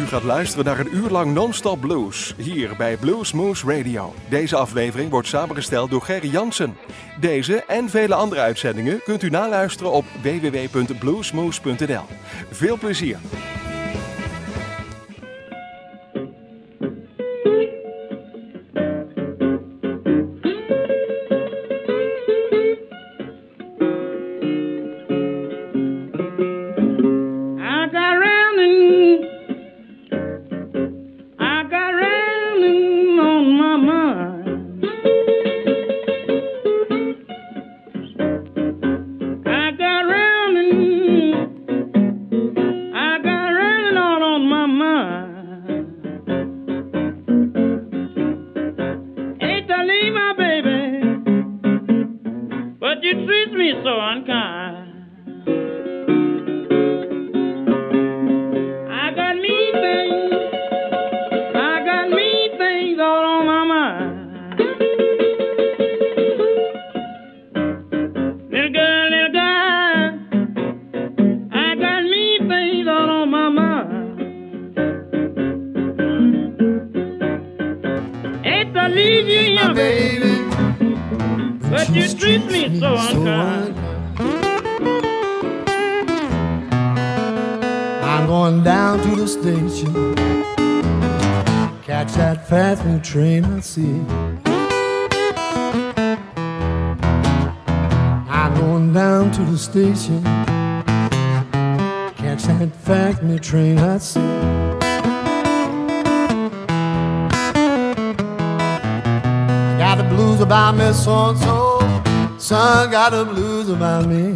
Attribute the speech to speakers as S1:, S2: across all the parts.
S1: gaat luisteren naar een uur lang non-stop blues, hier bij Bluesmoose Radio. Deze aflevering wordt samengesteld door Gerry Jansen. Deze en vele andere uitzendingen kunt u naluisteren op www.bluesmoose.nl. Veel plezier!
S2: Train I see. I'm going down to the station. Catch that fast me train I see. Got the blues about me so and so. Son got the blues about me.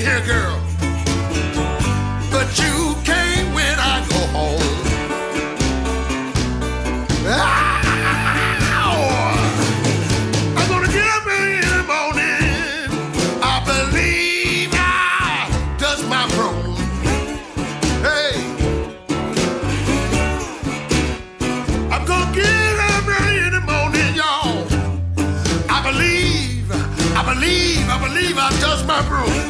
S2: here, girl. But you came when I go home. I'm gonna get up in the morning. I believe I touch my throne. Hey, I'm gonna get up early in the morning, y'all. I believe I touch my broom.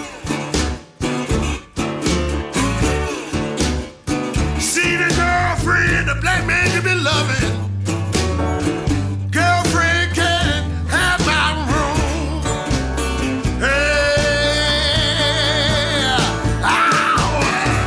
S2: See the girlfriend, the black man you been loving. Girlfriend can't have my room. Hey, ow.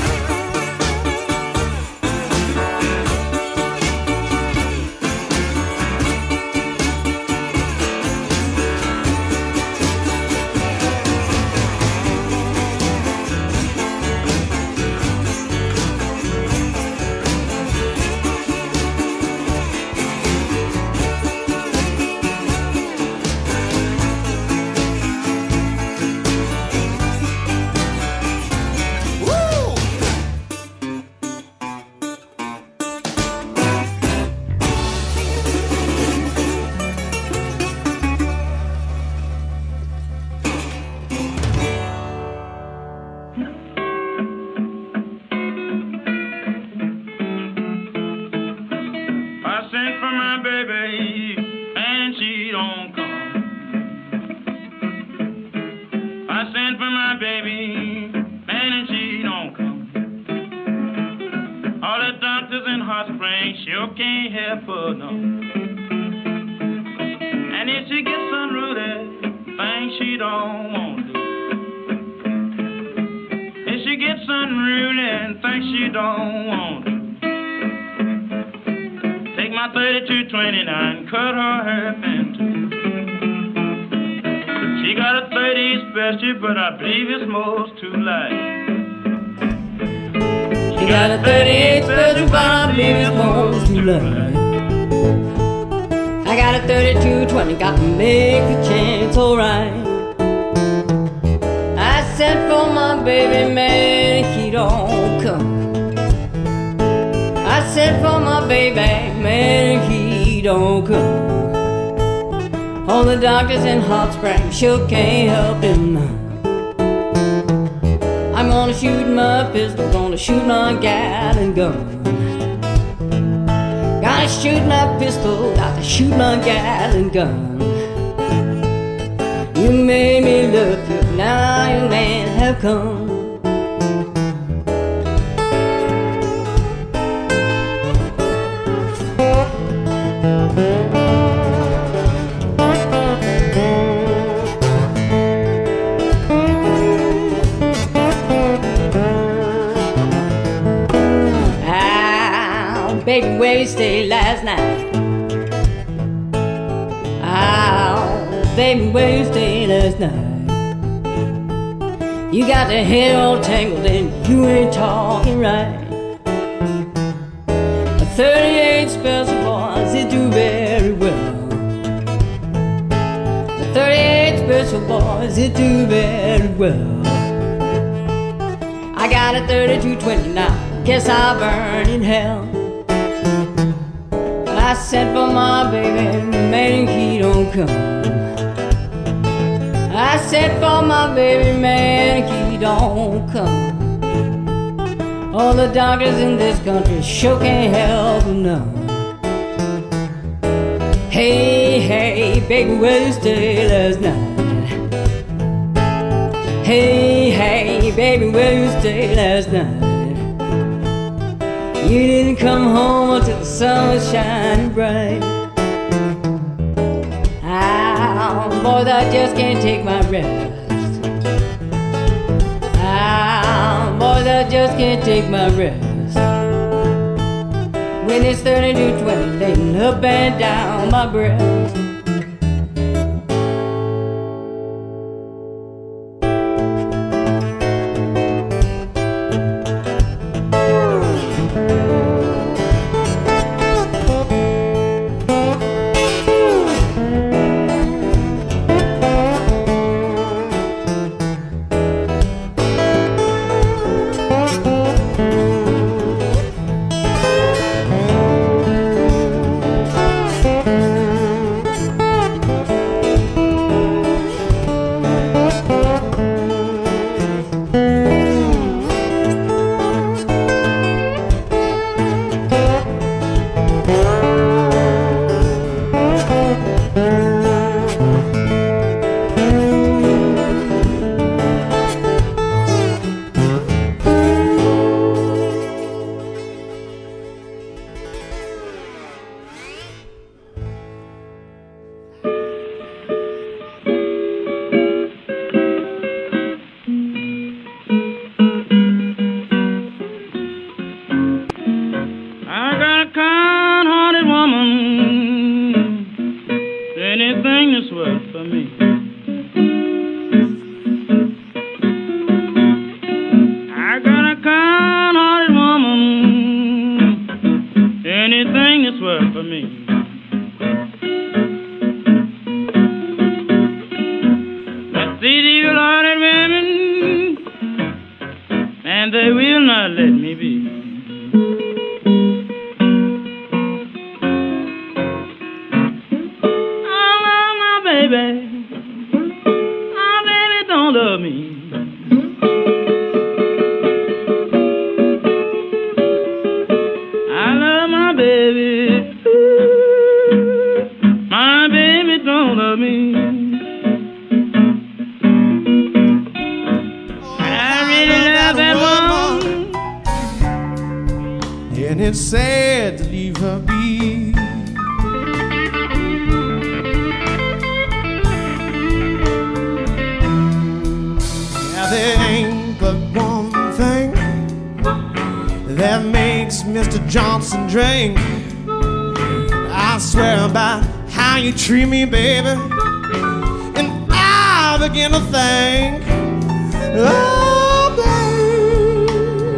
S3: But I believe it's most too light.
S4: She got a 38 special, but I believe it's most too light. I got a 32-20, got to make the chance alright. I sent for my baby, man, he don't come. I sent for my baby, man, he don't come. All the doctors in Hot Springs sure can't help him. I'm gonna shoot my pistol, gonna shoot my gal and gun. Gotta shoot my pistol, got to shoot my gal and gun. You made me love you, now your man have come. Baby, where you stayed last night? Oh, baby, where you stayed last night? You got the hair all tangled and you ain't talking right. A 38 special boys, they do very well. The 38 special boys, they do very well. I got a 32-20 now, guess I'll burn in hell. I sent for my baby, man, he don't come. I sent for my baby, man, he don't come. All the doctors in this country sure can't help him none. Hey, hey, baby, where you stay last night? Hey, hey, baby, where you stay last night? You didn't come home until the sun was shining bright. Ah, boys, I just can't take my rest. Ah, boys, I just can't take my rest. When it's 32-20, laying up and down my breast.
S3: they will not let me be. I love my baby. My baby don't love me. I love my baby. My baby don't love me.
S5: And it's sad to leave her be. Now there ain't but one thing that makes Mr. Johnson drink. I swear by how you treat me, baby, and I begin to think, oh, baby,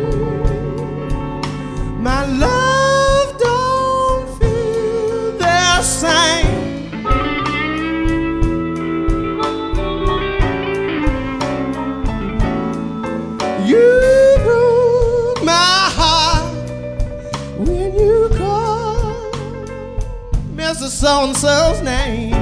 S5: my love don't feel the same. You broke my heart when you called Mr. So-and-so's name.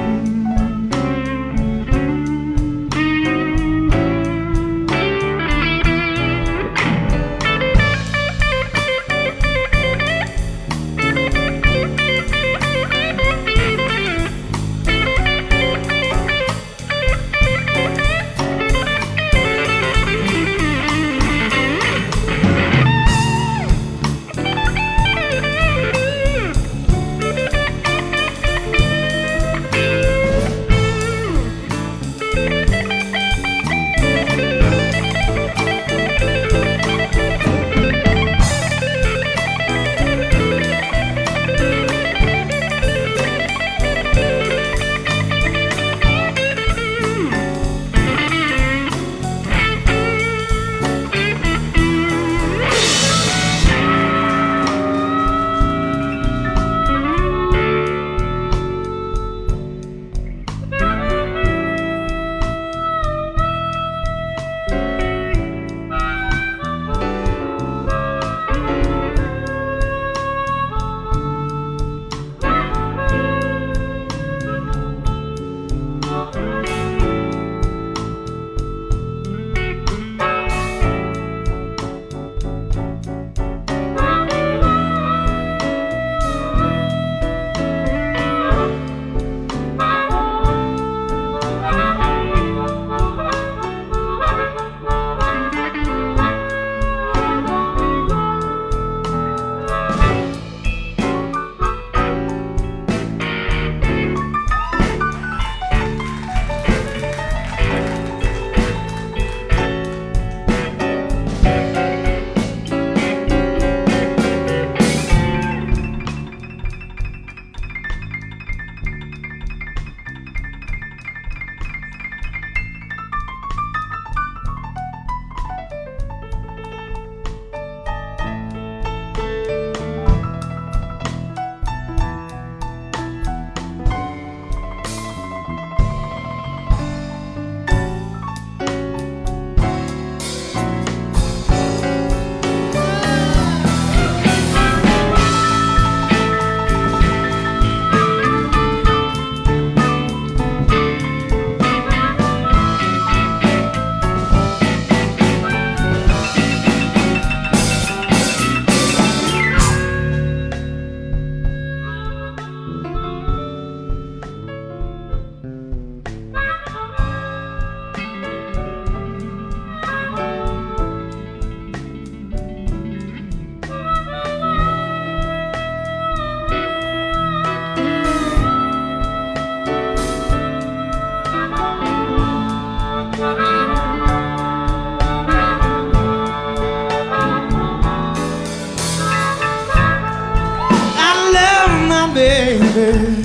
S5: Baby,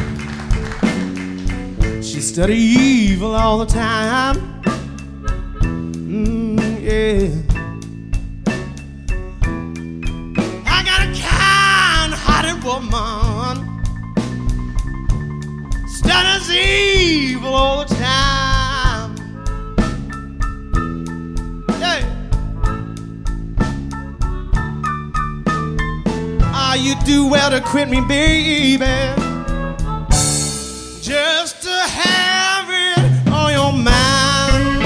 S5: she study evil all the time. Yeah, I got a kind-hearted woman, studies evil all the time. Yeah, do well to quit me, baby. Just to have it on your mind.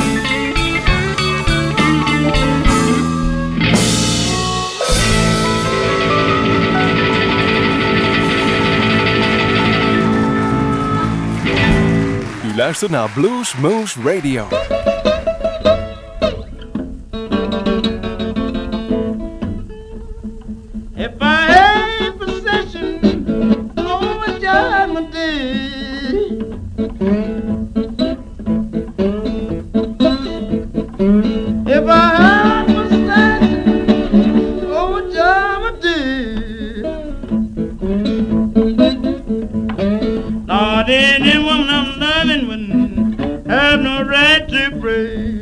S1: U luistert naar Blues Moose Radio.
S3: If I had possession over Judgment Day, if I had possession over Judgment Day, Lord, any woman I'm loving wouldn't have no right to pray.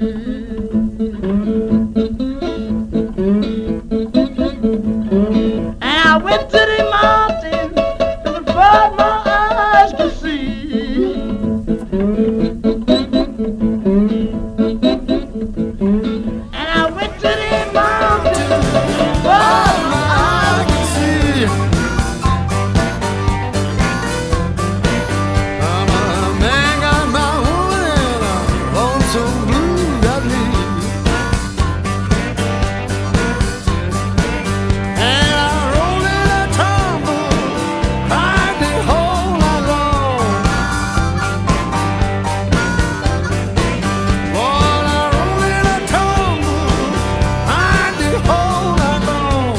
S3: I went to the mountain as far as my eyes could see. And I went to the mountain as far as my eyes could see.
S2: I'm a man, got my woman, I'm lonesome blue, got me. And I roll in a tumble, cried the whole night long. Lord, I roll in a tumble, cried the whole night long.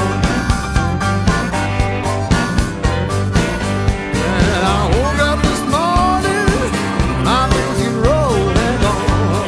S2: And I woke up this morning, my busy road had gone.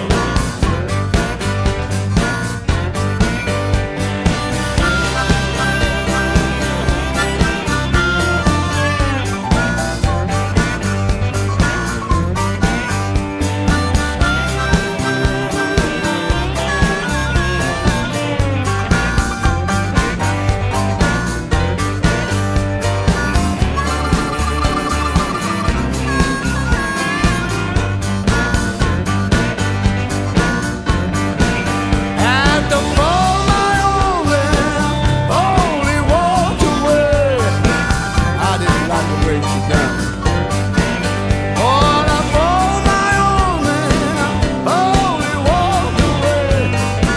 S2: Had to fall my own only walked away. I didn't like the way she done. Oh, I fall my own only walked away.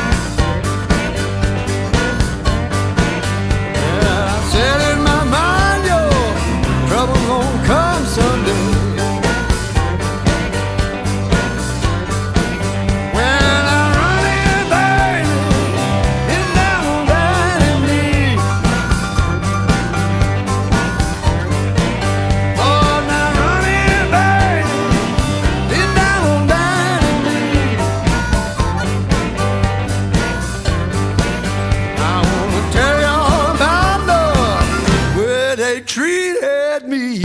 S2: Yeah, I said in my mind, yo, trouble gonna come someday. When I run in, baby, it's down on that in me. Oh, now run in, baby, it's down on that in me. I wanna tell y'all about the way they treated me.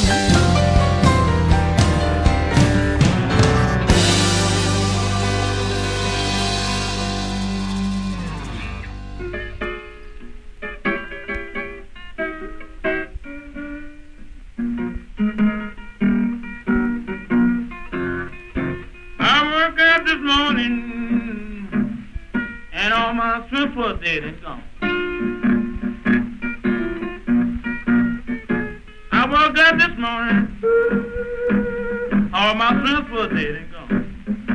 S3: I woke up this morning and all my strength was dead and gone. I woke up this morning, all my strength was dead and gone.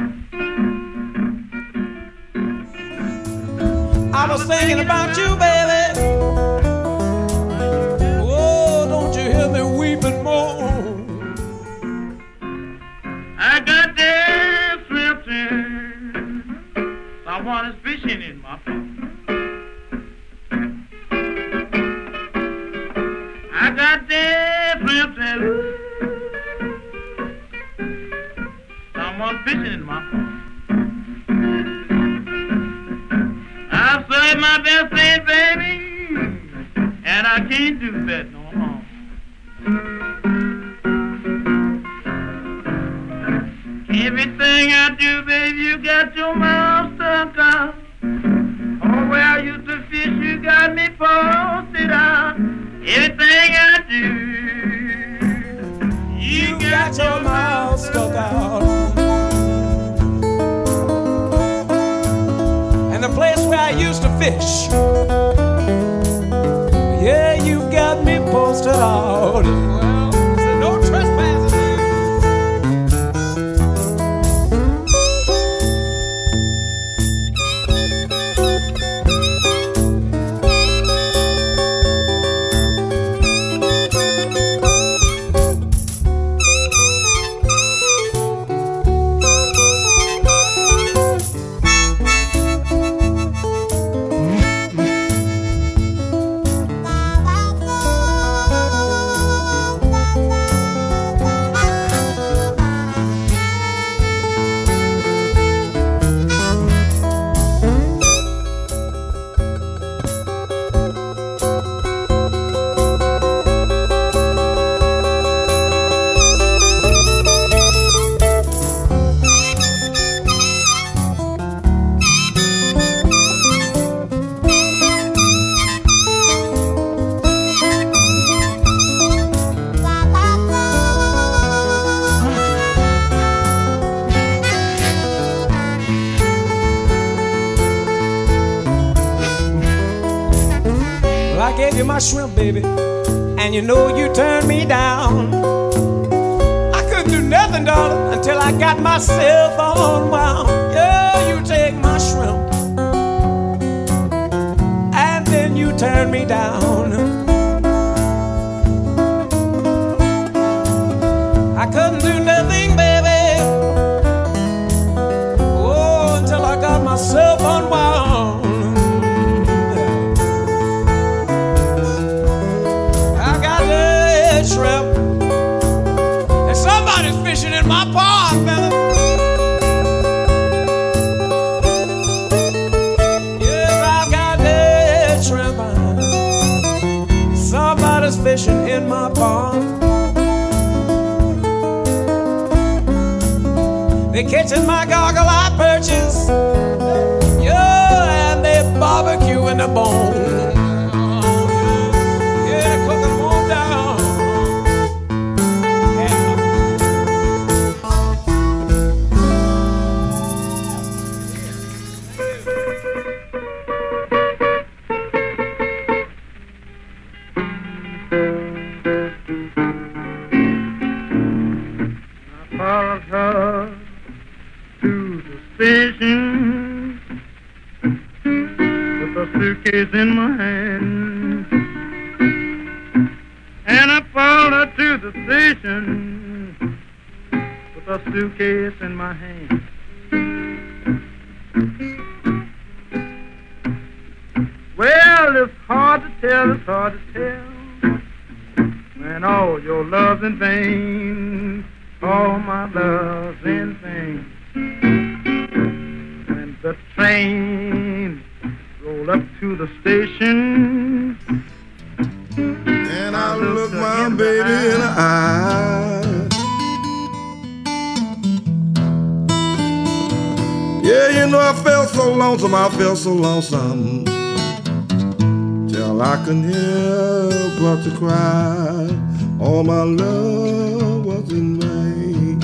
S5: I was thinking about you, baby. Oh, don't you hear me weeping more?
S3: I got there swimming, someone is fishing in my pond. I got there swimming, someone fishing in my pond. I've served my best day, baby, and I can't do that no more. Everything I do, baby, you got your mouth stuck out. Oh, where I used to fish, you got me posted out. Everything I do, you got your mouth stuck out.
S5: And the place where I used to fish, yeah, you got me posted out. Well, there's no trespassing. My shrimp, baby, and you know you turned me down. I couldn't do nothing, darling, until I got myself unwound. Yeah, you take my shrimp, and then you turn me down. I couldn't do nothing, baby, oh, until I got myself unwound. Shrimp. And somebody's fishing in my pond, fella. Yes, I've got that shrimp. Somebody's fishing in my pond. They catching my goggle-eye perches. Yeah, and they barbecuing the bone.
S3: In my hand, and I followed her to the station with a suitcase in my hand. Well, it's hard to tell when all your love's in vain, all my love's in vain. When the train roll up to the station,
S2: and I look my baby in the eye. Yeah, you know I felt so lonesome, till I couldn't help but to cry. All my love was in vain.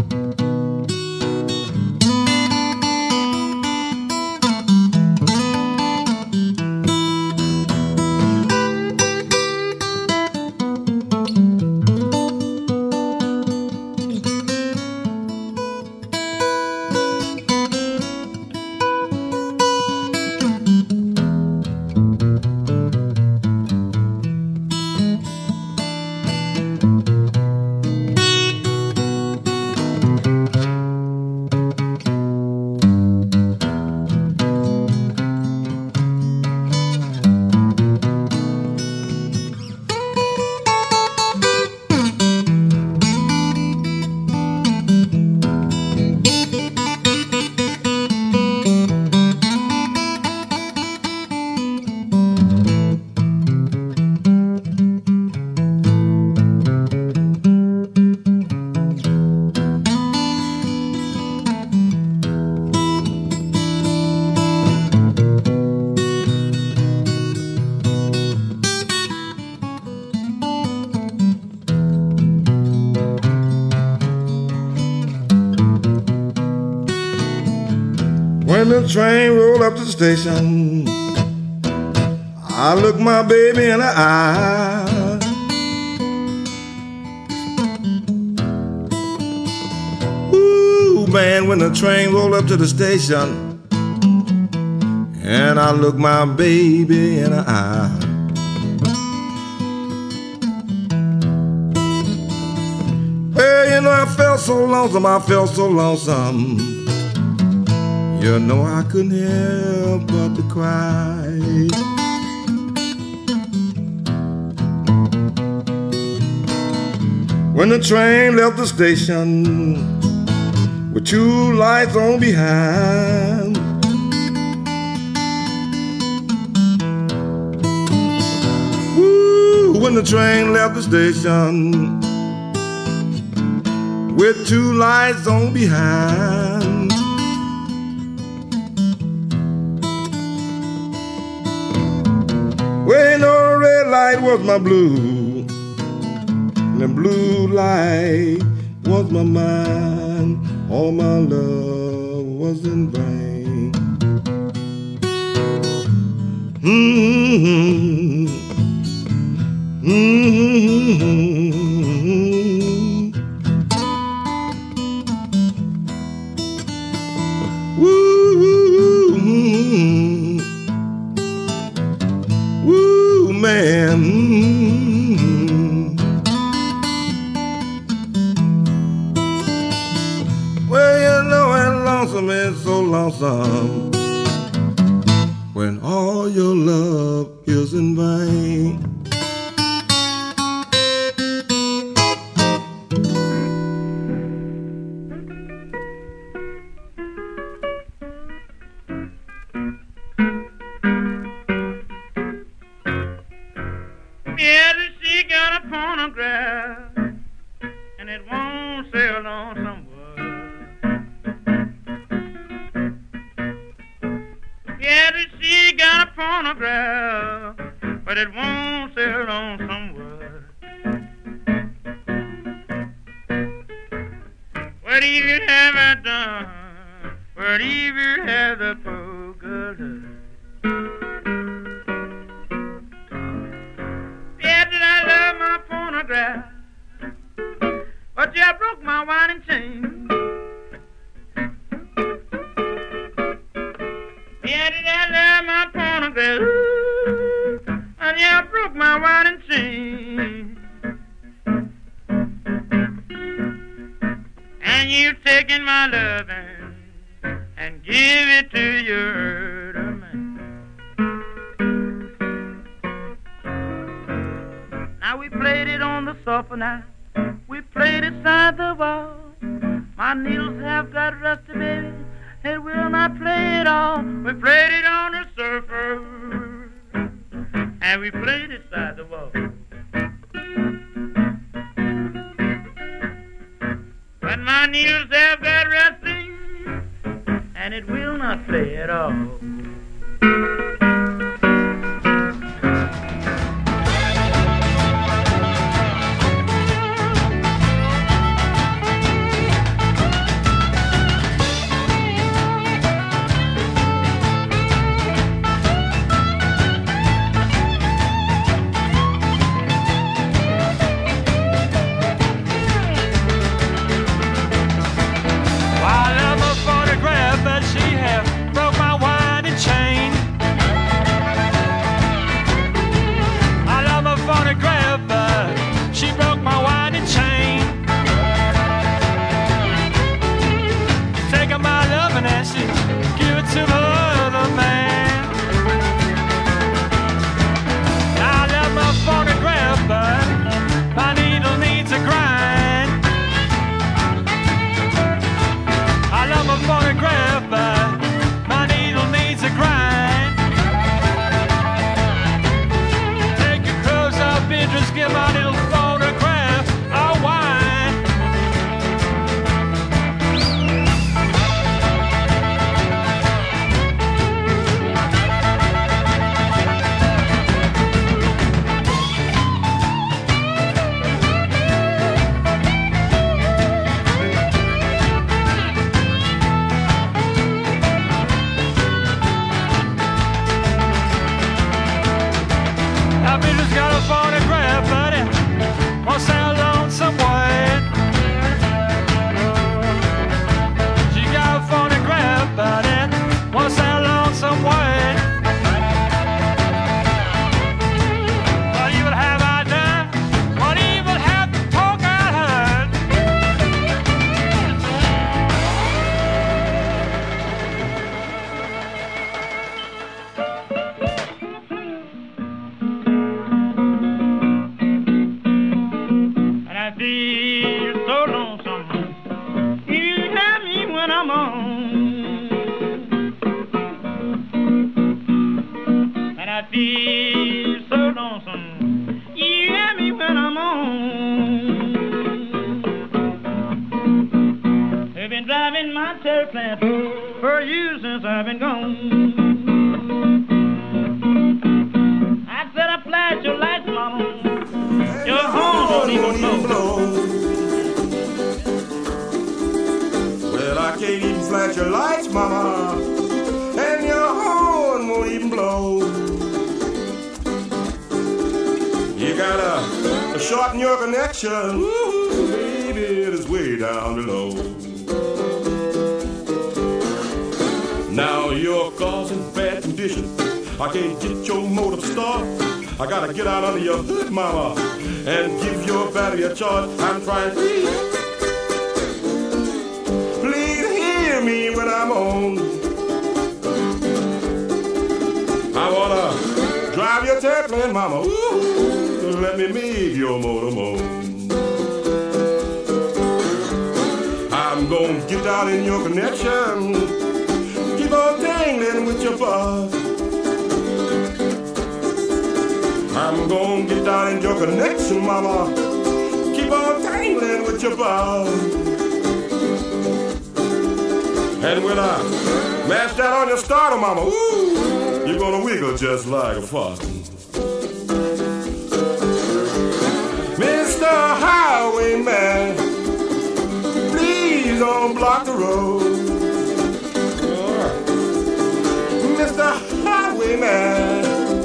S2: When the train rolled up to the station, I looked my baby in the eye. man, when the train rolled up to the station, and I looked my baby in the eye. Well, you know, I felt so lonesome, I felt so lonesome. You know, I couldn't help but to cry. When the train left the station with two lights on behind, woo, when the train left the station with two lights on behind, well, you know, the red light was my blue, the blue light was my mind. All my love was in vain. Mm-hmm. Mm-hmm. Woo, woo, man. It's so lonesome when all your love is in vain.
S3: Yeah, she got a phonograph and it won't sell on somewhere. Yeah, she got a phonograph, but it won't sell on somewhere. What do you have I done? What do you have the poor girl done? Yeah, did I love my phonograph? But you broke my winding chain. Yeah, did I love my phonograph? And you broke my winding chain. And you've taken my loving and give it to your other man. Now we played it on the sofa now. We played it side the wall. My needles have got rusty, baby. It will not play it all. We played it on the surfer, and we played it side the wall. But my needles have got rusty, and it will not play at all. feel so lonesome. You hear me when I'm on. I've been driving my tail plant for you since I've been gone. I said I flash your lights, mama. Your horn don't even blow.
S2: Well, I can't even flash your lights, mama, and your horn won't even blow. You gotta shorten your connection. Ooh, baby, it is way down below. Now you're causing bad conditions. I can't get your motor started. I gotta get out under your hood, mama, and give your battery a charge. I'm trying. Please hear me when I'm on. I wanna drive your airplane, mama. Ooh, let me make your motor moan. I'm gonna get down in your connection. Keep on dangling with your buzz. I'm gonna get down in your connection, mama. Keep on tangling with your buzz. And when I mash that on your starter, mama, ooh, you're gonna wiggle just like a fart. Mr. Highwayman, please don't block the road. Mr. Highwayman,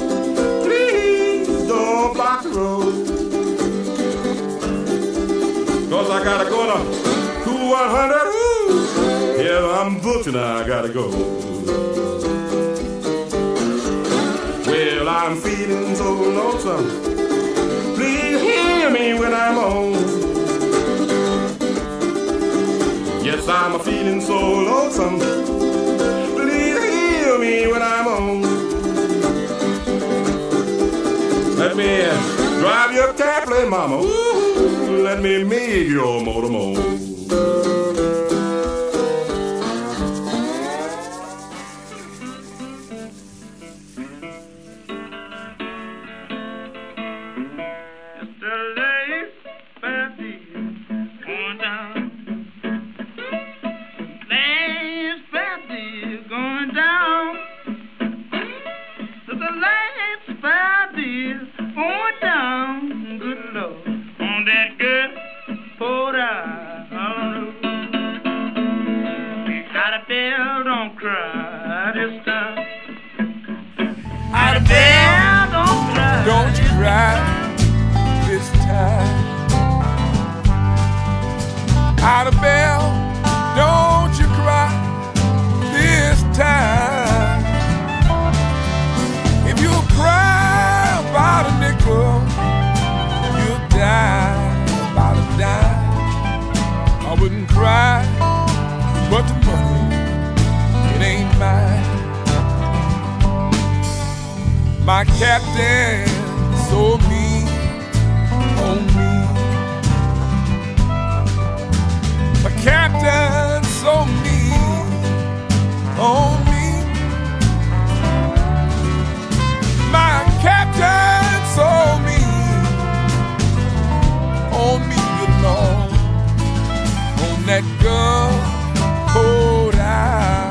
S2: don't block the road. 'Cause I gotta go to Cool 100. Ooh, yeah, I'm booked and I gotta go. Well, I'm feeling so lonesome. Please hear me when I'm on. Yes, I'm feeling so lonesome. Please hear me when I'm on. Let me drive your airplane, mama. Ooh, let me make your motor moan.
S6: Don't you cry this time. Out of bell, don't you cry this time. If you cry about a nickel, you'll die about a dime. I wouldn't cry, but the money, it ain't mine. My captain so mean on me. My captain so mean on me. My captain so mean on me, good Lord. On that gun, cold eye.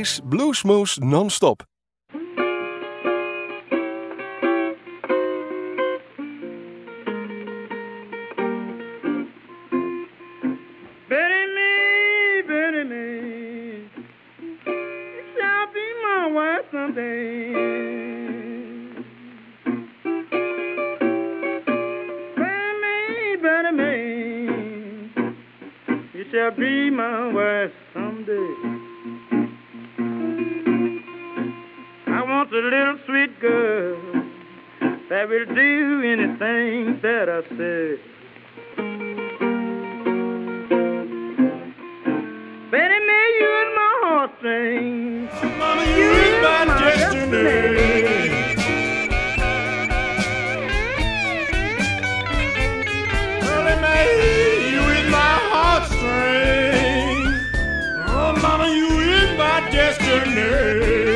S1: is Bluesmoose non-stop.
S3: Shall be my wife someday. I want a little sweet girl that will do anything that I say. Betty May, you in my heartstrings.
S6: Mama, you in my destiny. Early May, you in my heartstrings. Oh, mama, you in my destiny.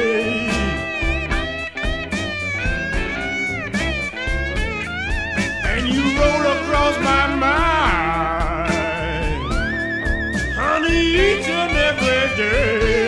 S6: And you roll across my mind, honey, each and every day.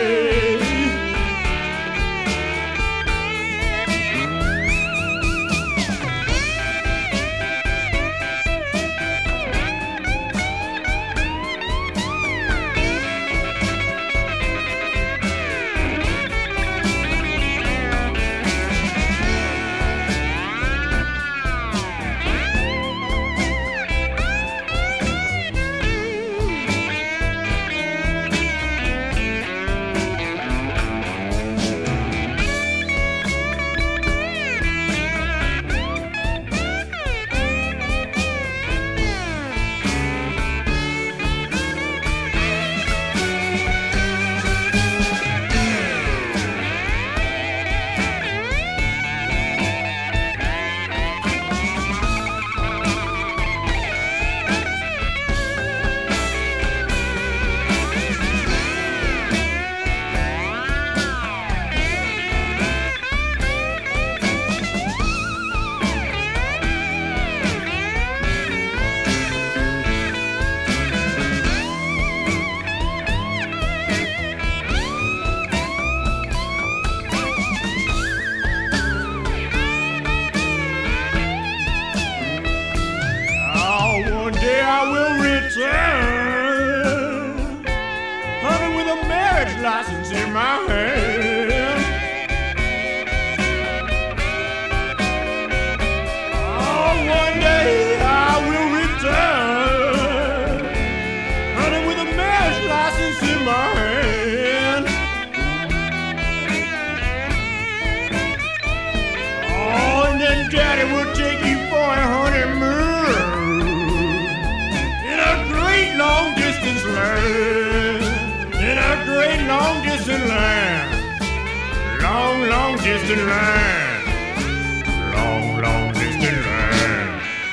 S6: License in my hand. Oh, one day I will return, honey, with a marriage license in my hand. Oh, and then Daddy will take you for a honeymoon in a great long distance land. In a great long distance land, long distance land, long distance land.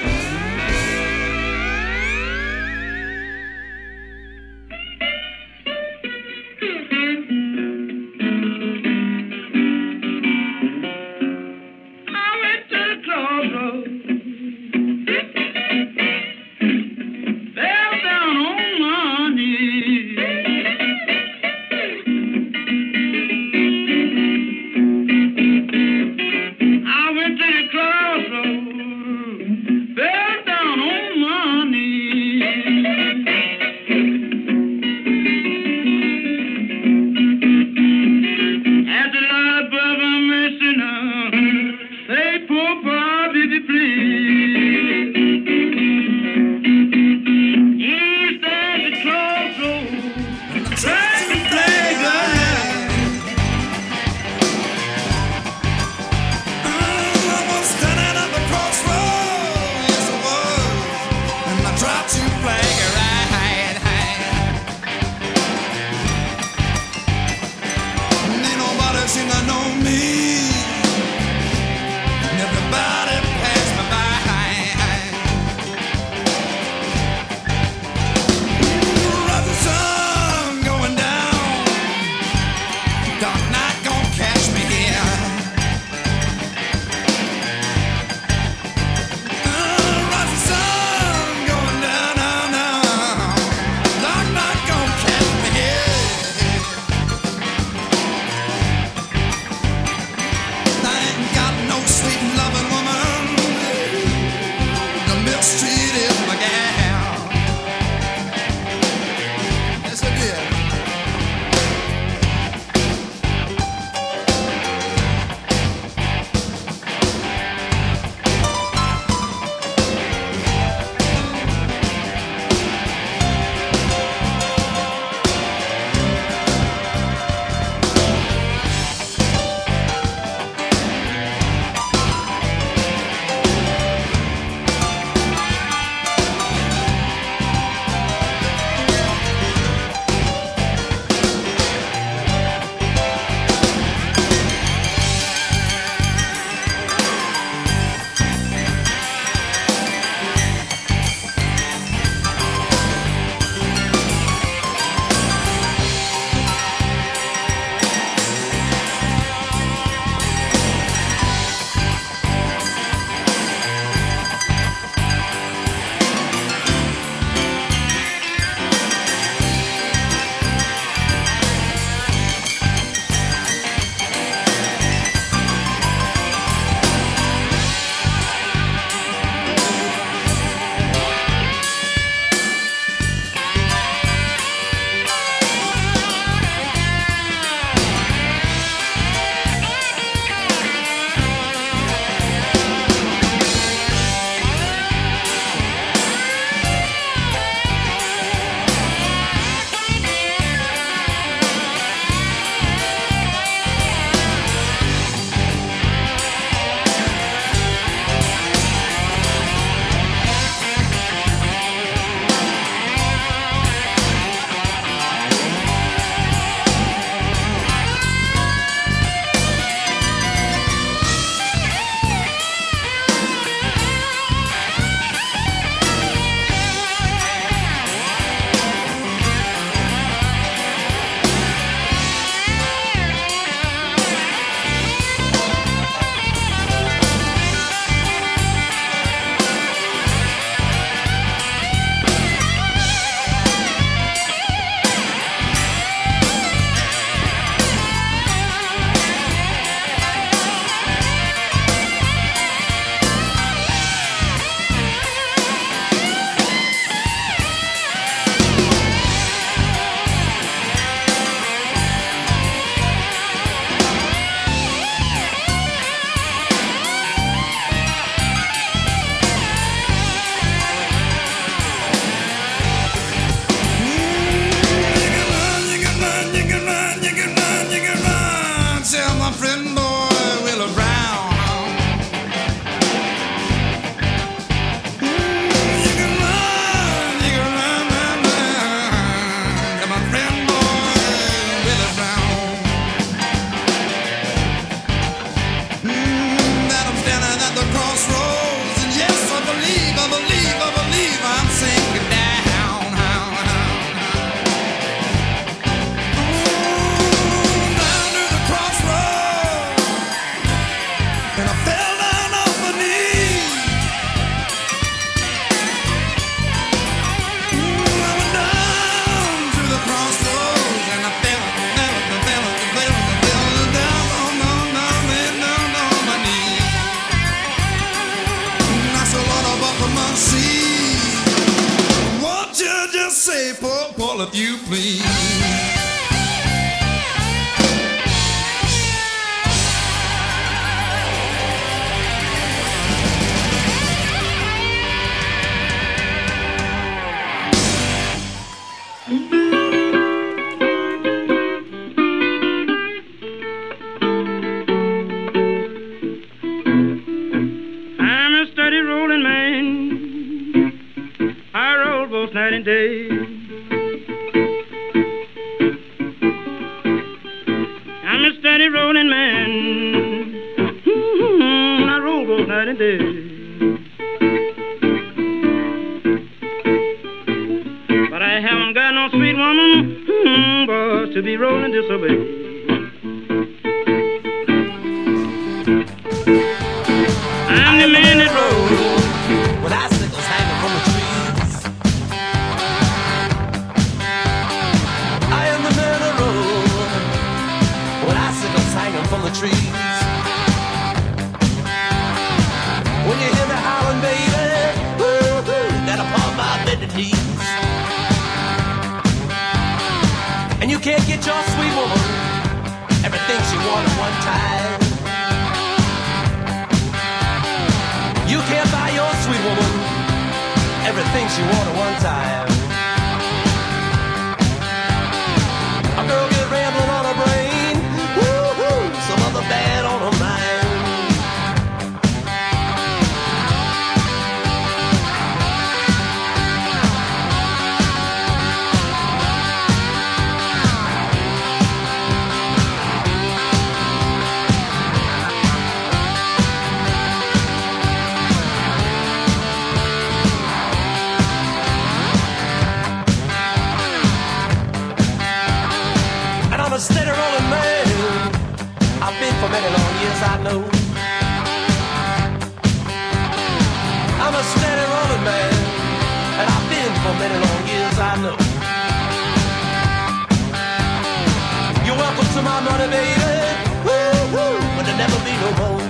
S3: I went to the crossroads, fell down on my knees.
S2: friend boy, Willie Brown. You can run to my friend boy, Willie Brown. That I'm standing at the crossroads, and yes, I believe I'm sinking down. Say, Paul, if you please.
S3: I'm a steady rolling man. I roll both night and day. I'm a steady rolling man. I roll both night and day. But I haven't got no sweet woman, boys, to be rolling this away. I'm the man that rolls with icicles hanging from the trees. I am the man that rolls with icicles hanging from the trees. When you hear me howling, baby, woo-hoo, that upon my bended knees. And you can't get your sweet woman everything she wanted one time. You can't buy your sweet woman everything she wanted one time. A girl get rambling on her brain, woo-hoo, some other bad on her mind. Steady rolling man, I've been for many long years, I know. I'm a steady rolling man, and I've been for many long years, I know. You're welcome to my money, baby, woo-hoo, but there'll never be no more.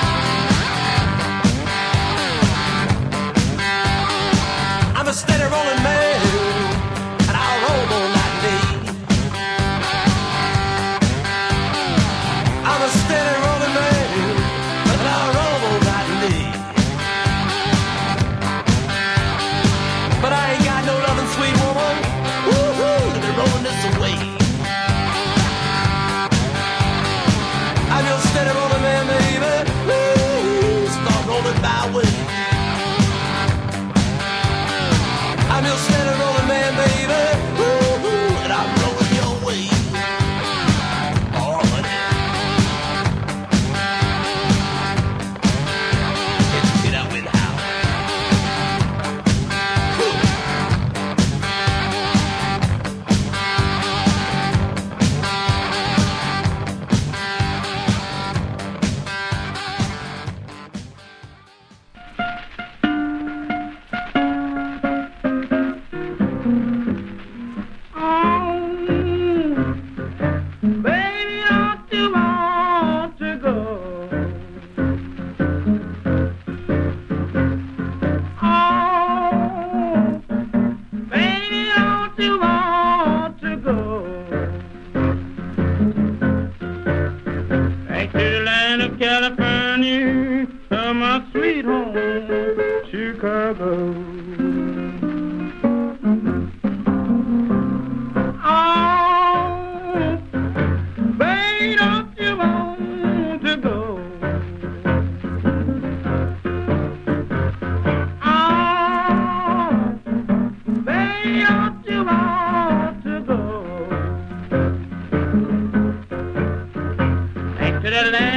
S3: Steady rolling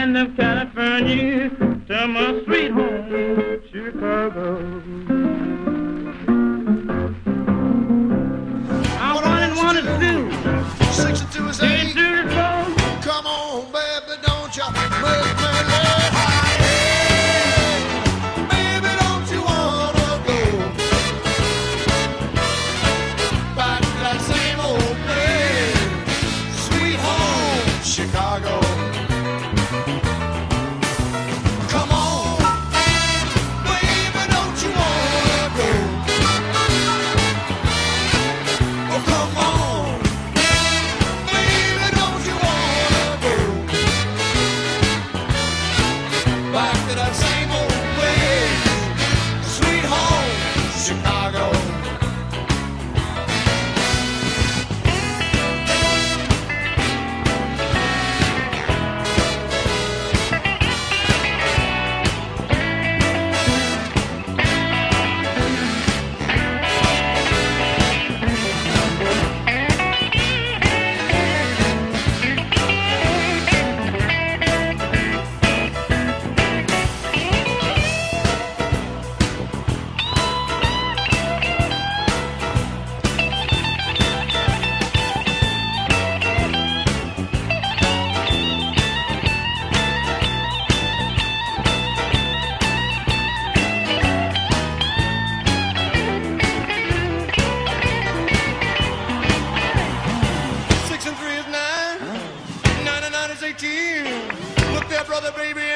S3: land of California to my sweet home, Chicago. I wanted to
S7: 62 is 8. Come on, baby, don't you make me laugh. Hey, baby, don't you wanna go back to that same old place, sweet home, Chicago. Come on, baby, don't you wanna go? Oh, come on. Back to that same old place, sweet home, Chicago. Look there, brother, baby.